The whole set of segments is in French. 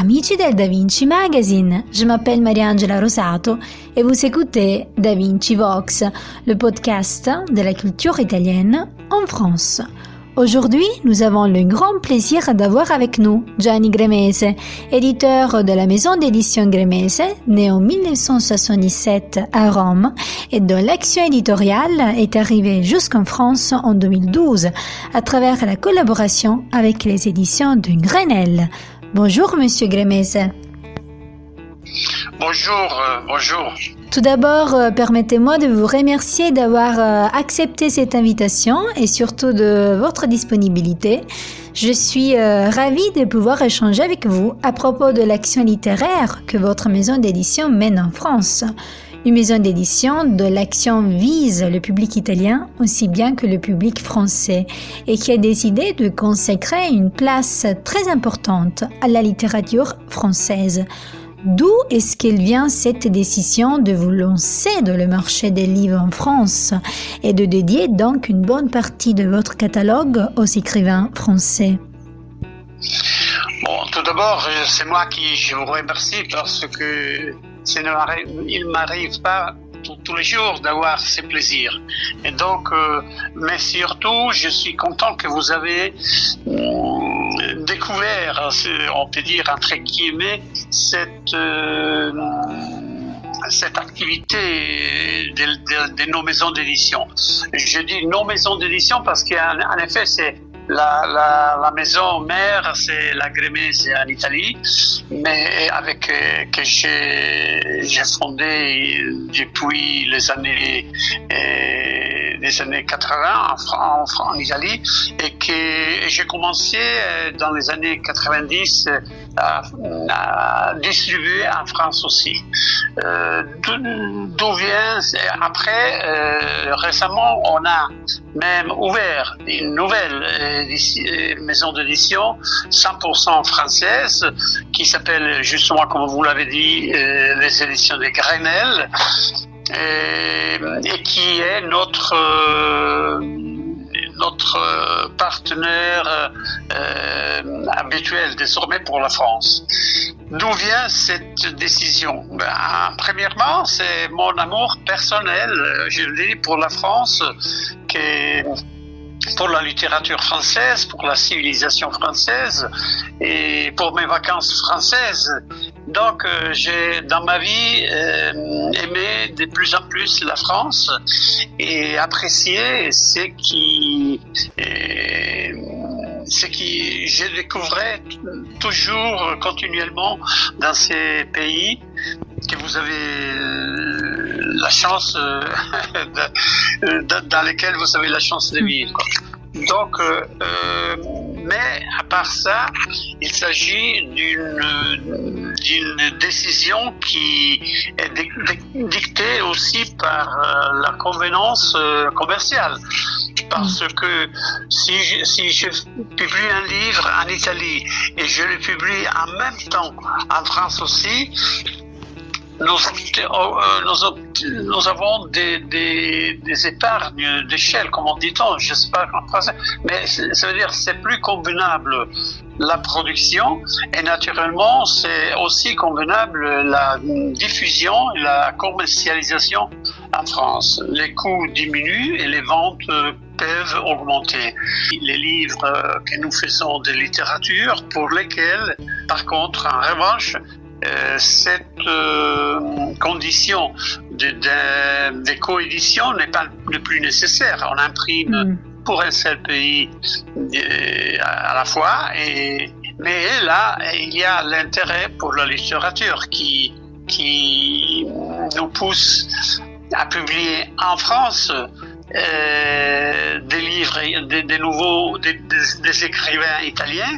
Amici del Da Vinci Magazine, je m'appelle Mariangela Rosato et vous écoutez Da Vinci Vox, le podcast de la culture italienne en France. Aujourd'hui, nous avons le grand plaisir d'avoir avec nous Gianni Gremese, éditeur de la maison d'édition Gremese, né en 1977 à Rome et dont l'action éditoriale est arrivée jusqu'en France en 2012 à travers la collaboration avec les éditions de Grenelle. Bonjour, Monsieur Gremese. Bonjour. Tout d'abord, permettez-moi de vous remercier d'avoir accepté cette invitation et surtout de votre disponibilité. Je suis ravie de pouvoir échanger avec vous à propos de l'action littéraire que votre maison d'édition mène en France. Une maison d'édition dont l'action vise le public italien aussi bien que le public français et qui a décidé de consacrer une place très importante à la littérature française. D'où est-ce qu'elle vient cette décision de vous lancer dans le marché des livres en France et de dédier donc une bonne partie de votre catalogue aux écrivains français? Bon, tout d'abord, c'est moi qui je vous remercie parce que il ne m'arrive pas tous les jours d'avoir ces plaisirs. Et donc, mais surtout, je suis content que vous avez découvert, on peut dire entre guillemets, cette activité de nos maisons d'édition. Je dis nos maisons d'édition parce qu'en effet, c'est la maison mère, c'est la Gremese en Italie, mais avec que j'ai fondé depuis les années 80 en Italie et que j'ai commencé dans les années 90 à distribuer en France aussi. D'où vient après récemment on a même ouvert une nouvelle maison d'édition 100% française qui s'appelle justement, comme vous l'avez dit, les éditions de Grenelle et qui est notre partenaire habituel désormais pour la France. D'où vient cette décision? Premièrement, c'est mon amour personnel, je le dis, pour la France, pour la littérature française, pour la civilisation française et pour mes vacances françaises. Donc, j'ai dans ma vie aimé de plus en plus la France et apprécié ce qui je découvrais toujours continuellement dans ces pays que vous avez la chance dans lesquels vous avez la chance de vivre. Donc, mais à part ça, il s'agit d'une décision qui est dictée aussi par la convenance commerciale. Parce que si je publie un livre en Italie et je le publie en même temps en France aussi, nous avons des épargnes d'échelle, comme on dit, je ne sais pas en français, mais ça veut dire c'est plus convenable la production et naturellement c'est aussi convenable la diffusion et la commercialisation en France. Les coûts diminuent et les ventes peuvent augmenter. Les livres que nous faisons de littérature pour lesquels, par contre, en revanche, cette condition de coédition n'est pas le plus nécessaire. On imprime pour un seul pays à la fois, mais là, il y a l'intérêt pour la littérature qui nous pousse à publier en France des livres, des écrivains italiens.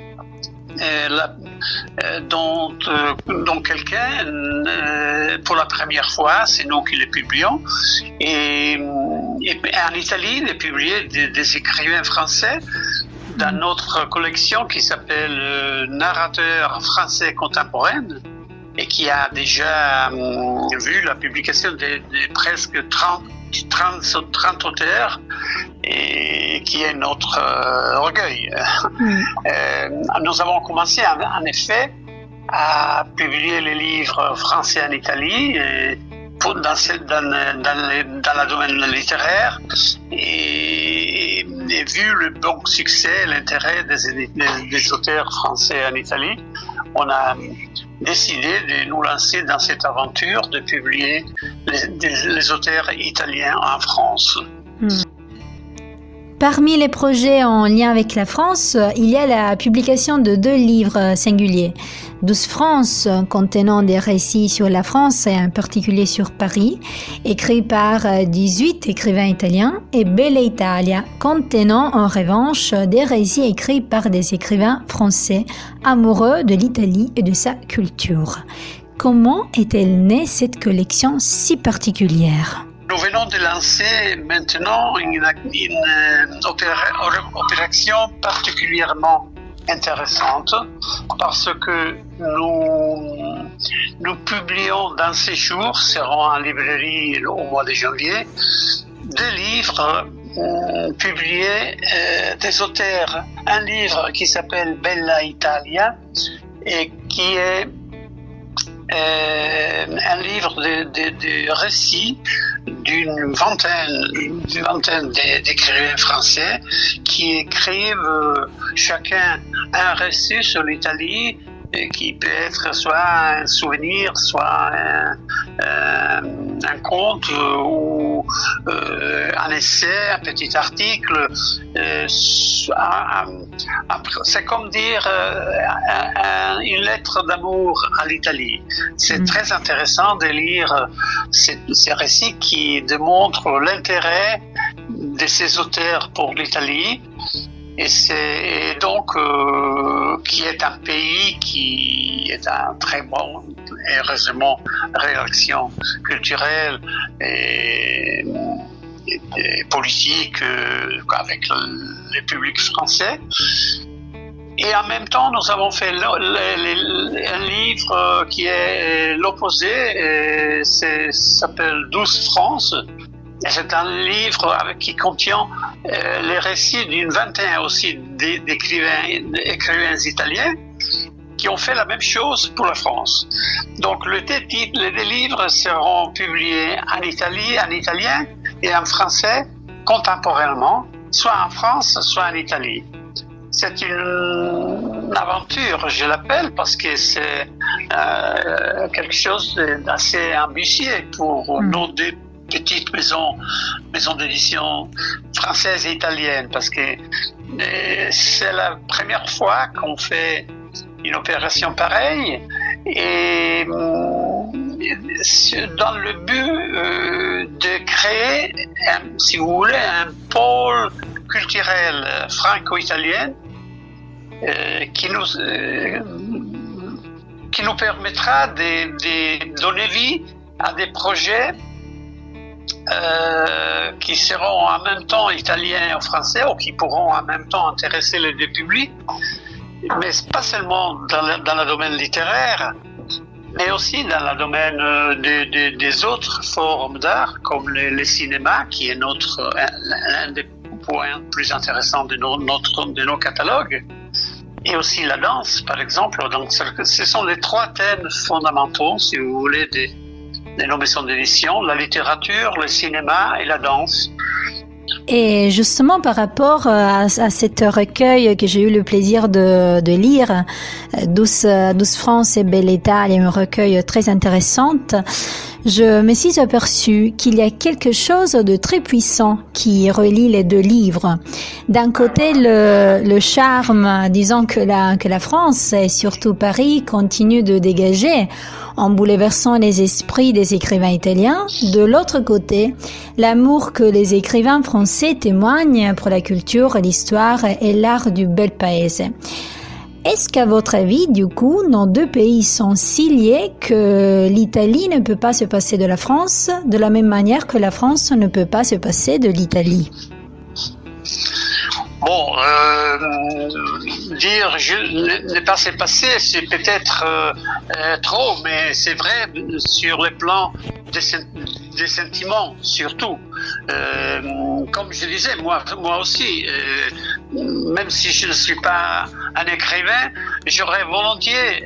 Dont quelqu'un, pour la première fois, c'est nous qui les publions. Et en Italie, il est publié des écrivains français dans notre collection qui s'appelle Narrateurs français contemporains et qui a déjà vu la publication de presque 30 auteurs et qui est notre orgueil. Nous avons commencé en effet à publier les livres français en Italie, dans le domaine littéraire, et vu le bon succès, l'intérêt des auteurs français en Italie, on a décidé de nous lancer dans cette aventure de publier les auteurs italiens en France. Parmi les projets en lien avec la France, il y a la publication de 2 livres singuliers. 12 France, contenant des récits sur la France et en particulier sur Paris, écrits par 18 écrivains italiens, et Bella Italia, contenant en revanche des récits écrits par des écrivains français amoureux de l'Italie et de sa culture. Comment est-elle née cette collection si particulière ? Nous venons de lancer maintenant une opération particulièrement intéressante parce que nous publions dans ces jours, seront en librairie au mois de janvier, 2 livres publiés des auteurs. Un livre qui s'appelle Bella Italia et qui est un livre de récits d'une vingtaine d'écrivains français qui écrivent chacun un récit sur l'Italie qui peut être soit un souvenir, soit un conte ou un essai, un petit article. C'est comme dire une lettre d'amour à l'Italie. C'est très intéressant de lire ces récits qui démontrent l'intérêt de ces auteurs pour l'Italie. Et donc, qui est un pays qui est un très bon, heureusement, réaction culturelle et politique avec le public français. Et en même temps, nous avons fait un livre qui est l'opposé, s'appelle 12 France. Et c'est un livre qui contient les récits d'une vingtaine aussi d'écrivains italiens qui ont fait la même chose pour la France. Donc les 2 livres seront publiés en Italie, en italien et en français contemporainement, soit en France, soit en Italie. C'est une aventure, je l'appelle, parce que c'est quelque chose d'assez ambitieux pour nos 2 petites maisons d'édition françaises et italiennes, parce que c'est la première fois qu'on fait une opération pareille et dans le but de créer, si vous voulez, un pôle culturel franco-italien qui nous permettra de donner vie à des projets qui seront en même temps italiens ou français ou qui pourront en même temps intéresser les 2 publics, mais pas seulement dans le domaine littéraire, mais aussi dans le domaine des autres formes d'art, comme le cinéma, qui est l'un des points plus intéressants de nos catalogues, et aussi la danse, par exemple. Donc, ce sont les 3 thèmes fondamentaux, si vous voulez, de nos maisons d'édition: la littérature, le cinéma et la danse. Et justement, par rapport à cet recueil que j'ai eu le plaisir de lire, 12 France et Bella Italia, un recueil très intéressant, je me suis aperçue qu'il y a quelque chose de très puissant qui relie les 2 livres. D'un côté, le charme, disons que la France et surtout Paris continue de dégager en bouleversant les esprits des écrivains italiens. De l'autre côté, l'amour que les écrivains français témoignent pour la culture, l'histoire et l'art du bel paese. Est-ce qu'à votre avis, du coup, nos 2 pays sont si liés que l'Italie ne peut pas se passer de la France, de la même manière que la France ne peut pas se passer de l'Italie? Bon, dire ne pas se passer, c'est peut-être trop, mais c'est vrai sur le plan des sentiments surtout. Comme je disais, moi aussi, même si je ne suis pas un écrivain, j'aurais volontiers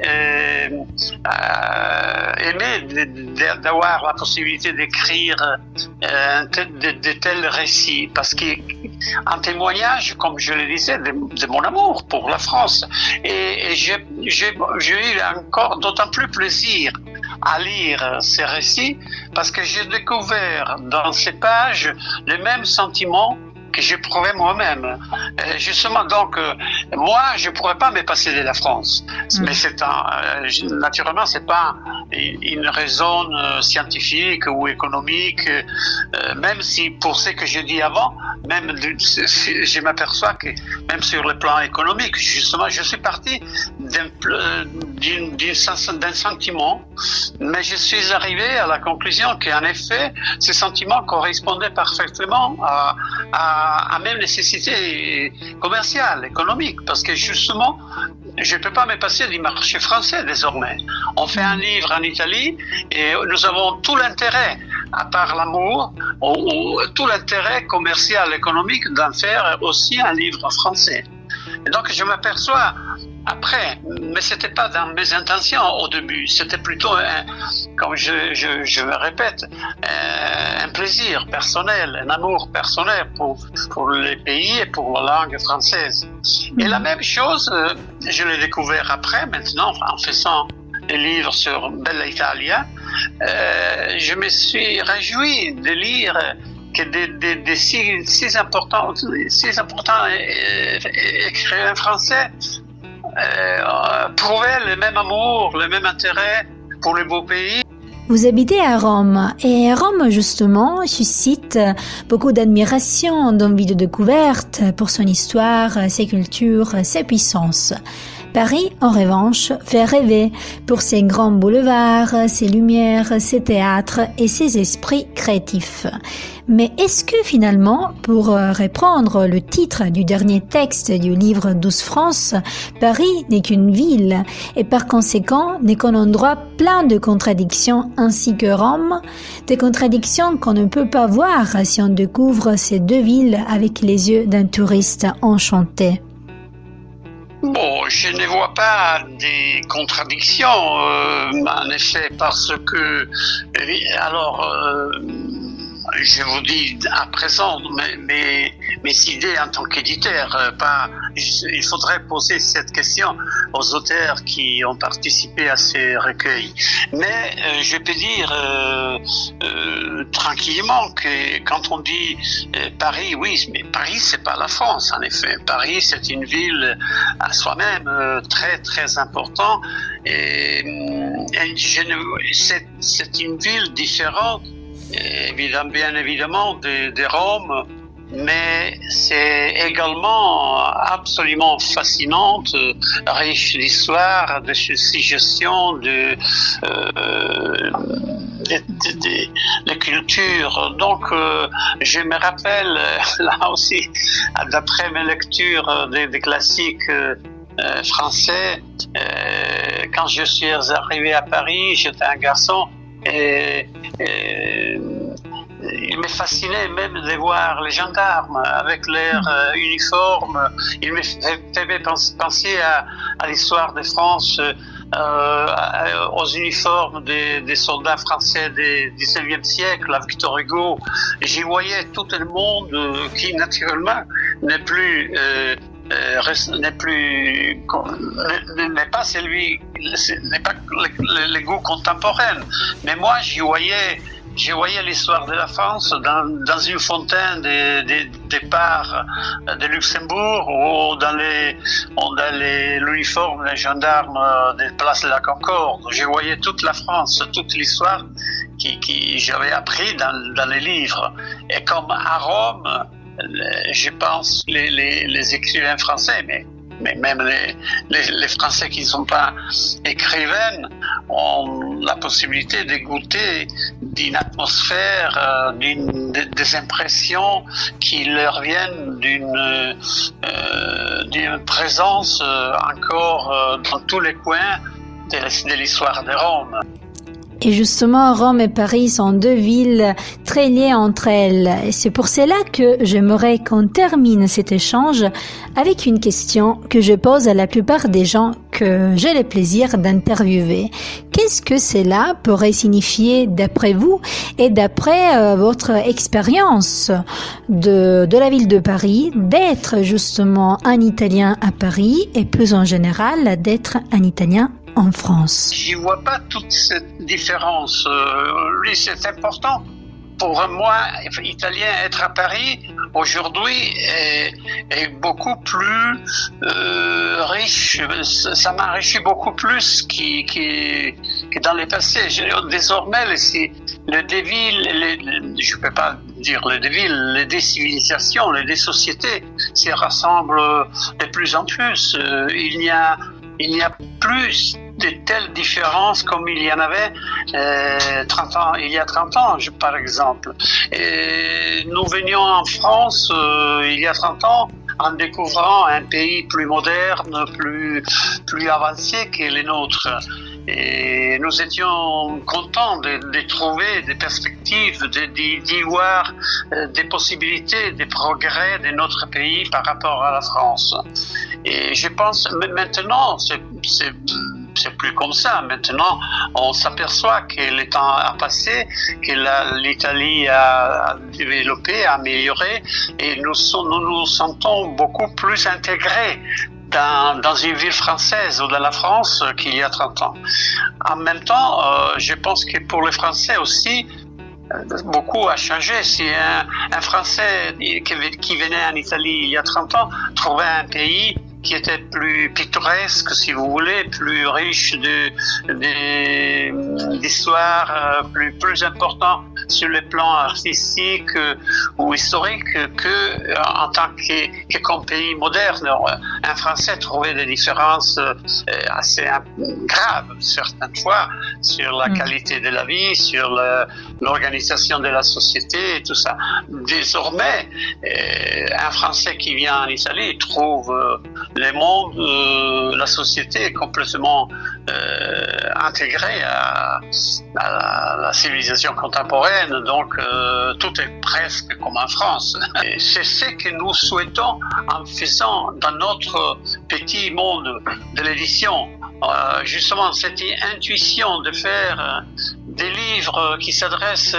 aimé d'avoir la possibilité d'écrire de tels récits, parce qu'en témoignage, comme je le disais, de mon amour pour la France. Et j'ai eu encore d'autant plus plaisir à lire ces récits, parce que j'ai découvert dans ces pages les mêmes sentiments que j'éprouvais moi-même. Justement, donc, moi, je pourrais pas me passer de la France. Mais naturellement, c'est pas une raison scientifique ou économique, même si, pour ce que j'ai dit avant, même je m'aperçois que, même sur le plan économique, justement, je suis parti d'un sentiment, mais je suis arrivé à la conclusion qu'en effet, ce sentiment correspondait parfaitement à même nécessité commerciale, économique, parce que justement, je ne peux pas me passer du marché français désormais. On fait un livre en Italie et nous avons tout l'intérêt, à part l'amour, tout l'intérêt commercial, économique d'en faire aussi un livre français. Et donc je m'aperçois après, mais c'était pas dans mes intentions au début, c'était plutôt, comme je me répète, un plaisir personnel, un amour personnel pour les pays et pour la langue française. Et la même chose, je l'ai découvert après, maintenant, en faisant des livres sur Bella Italia, je me suis réjoui de lire que des si importants écrivains français prouvaient le même amour, le même intérêt pour le beau pays. Vous habitez à Rome et Rome justement suscite beaucoup d'admiration, d'envie de découverte pour son histoire, ses cultures, ses puissances. Paris, en revanche, fait rêver pour ses grands boulevards, ses lumières, ses théâtres et ses esprits créatifs. Mais est-ce que finalement, pour reprendre le titre du dernier texte du livre 12 France, Paris n'est qu'une ville et par conséquent n'est qu'un endroit plein de contradictions ainsi que Rome, des contradictions qu'on ne peut pas voir si on découvre ces deux villes avec les yeux d'un touriste enchanté? Bon, je ne vois pas des contradictions, en effet, parce que, je vous dis à présent mes idées en tant qu'éditeur. Il faudrait poser cette question aux auteurs qui ont participé à ces recueils. Mais je peux dire tranquillement que quand on dit Paris, oui, mais Paris c'est pas la France en effet. Paris c'est une ville à soi-même très très important et c'est une ville différente. Bien évidemment de Rome, mais c'est également absolument fascinante, riche d'histoire, de suggestions, de culture. Donc, je me rappelle là aussi, d'après mes lectures des classiques français, quand je suis arrivé à Paris, j'étais un garçon. Et il me fascinait même de voir les gendarmes avec leur uniforme. Il me fait penser à l'histoire de France, aux uniformes des soldats français du XIXe siècle, à Victor Hugo. J'y voyais tout le monde qui naturellement n'est pas le goût contemporain. Mais moi, j'y voyais l'histoire de la France dans une fontaine des parcs de Luxembourg ou dans l'uniforme des gendarmes des places de la Concorde. Je voyais toute la France, toute l'histoire qui j'avais appris dans les livres. Et comme à Rome, je pense les écrivains français, mais même les Français qui ne sont pas écrivains ont la possibilité de goûter d'une atmosphère, des impressions qui leur viennent d'une présence encore dans tous les coins de l'histoire de Rome. Et justement, Rome et Paris sont deux villes très liées entre elles. Et c'est pour cela que j'aimerais qu'on termine cet échange avec une question que je pose à la plupart des gens que j'ai le plaisir d'interviewer. Qu'est-ce que cela pourrait signifier d'après vous et d'après votre expérience de la ville de Paris, d'être justement un Italien à Paris et plus en général d'être un Italien en France? J'y vois pas toute cette différence. Oui, c'est important. Pour moi, Italien, être à Paris aujourd'hui est beaucoup plus riche. Ça m'enrichit beaucoup plus que dans le passé. Désormais, les villes, je peux pas dire les villes, les décivilisations, les déssociétés se rassemblent de plus en plus. Il n'y a plus de telles différences comme il y en avait il y a 30 ans, par exemple. Et nous venions en France il y a 30 ans en découvrant un pays plus moderne, plus avancé que les nôtres. Et nous étions contents de trouver des perspectives, d'y voir des possibilités, des progrès de notre pays par rapport à la France. Et je pense maintenant, c'est plus comme ça. Maintenant, on s'aperçoit que le temps a passé, que l'Italie a développé, a amélioré, et nous nous sentons beaucoup plus intégrés dans une ville française ou dans la France qu'il y a 30 ans. En même temps, je pense que pour les Français aussi, beaucoup a changé. Si un Français qui venait en Italie il y a 30 ans trouvait un pays qui était plus pittoresque, si vous voulez, plus riche d'histoire, plus important sur le plan artistique ou historique que en tant que comme pays moderne. Un Français trouvait des différences assez graves certaines fois sur la qualité de la vie, sur l'organisation de la société et tout ça. Désormais, un Français qui vient en Italie trouve le monde, la société est complètement intégrée à la civilisation contemporaine, donc tout est presque comme en France. Et c'est ce que nous souhaitons en faisant dans notre petit monde de l'édition, justement cette intuition de faire des livres qui s'adressent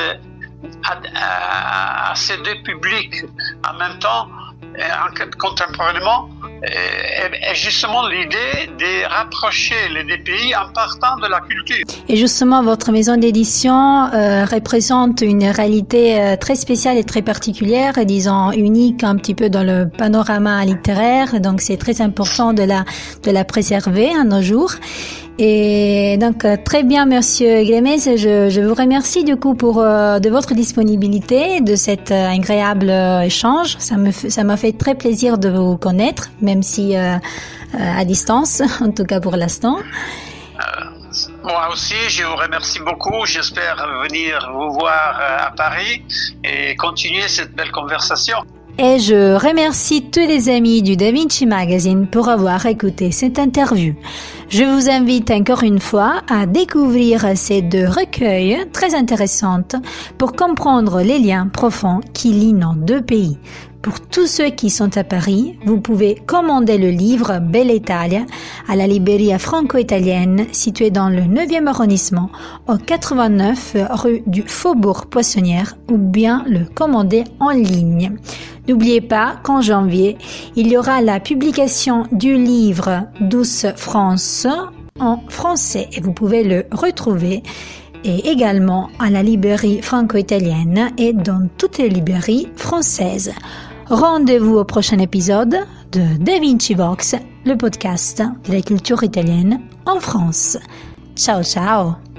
à ces deux publics en même temps, contemporainement, est justement l'idée de rapprocher les deux pays en partant de la culture. Et justement, votre maison d'édition représente une réalité très spéciale et très particulière, disons unique un petit peu dans le panorama littéraire, donc c'est très important de la préserver à nos jours. Et donc très bien, Monsieur Glemez, je vous remercie du coup pour de votre disponibilité, de cet agréable échange. Ça m'a fait très plaisir de vous connaître, même si à distance, en tout cas pour l'instant. Moi aussi, je vous remercie beaucoup. J'espère venir vous voir à Paris et continuer cette belle conversation. Et je remercie tous les amis du Da Vinci Magazine pour avoir écouté cette interview. Je vous invite encore une fois à découvrir ces deux recueils très intéressants pour comprendre les liens profonds qui lient nos deux pays. Pour tous ceux qui sont à Paris, vous pouvez commander le livre Bella Italia à la Libreria franco-italienne située dans le 9e arrondissement au 89 rue du Faubourg Poissonnière ou bien le commander en ligne. N'oubliez pas qu'en janvier, il y aura la publication du livre Douce France en français et vous pouvez le retrouver et également à la librairie franco-italienne et dans toutes les librairies françaises. Rendez-vous au prochain épisode de Da Vinci Vox, le podcast de la culture italienne en France. Ciao ciao!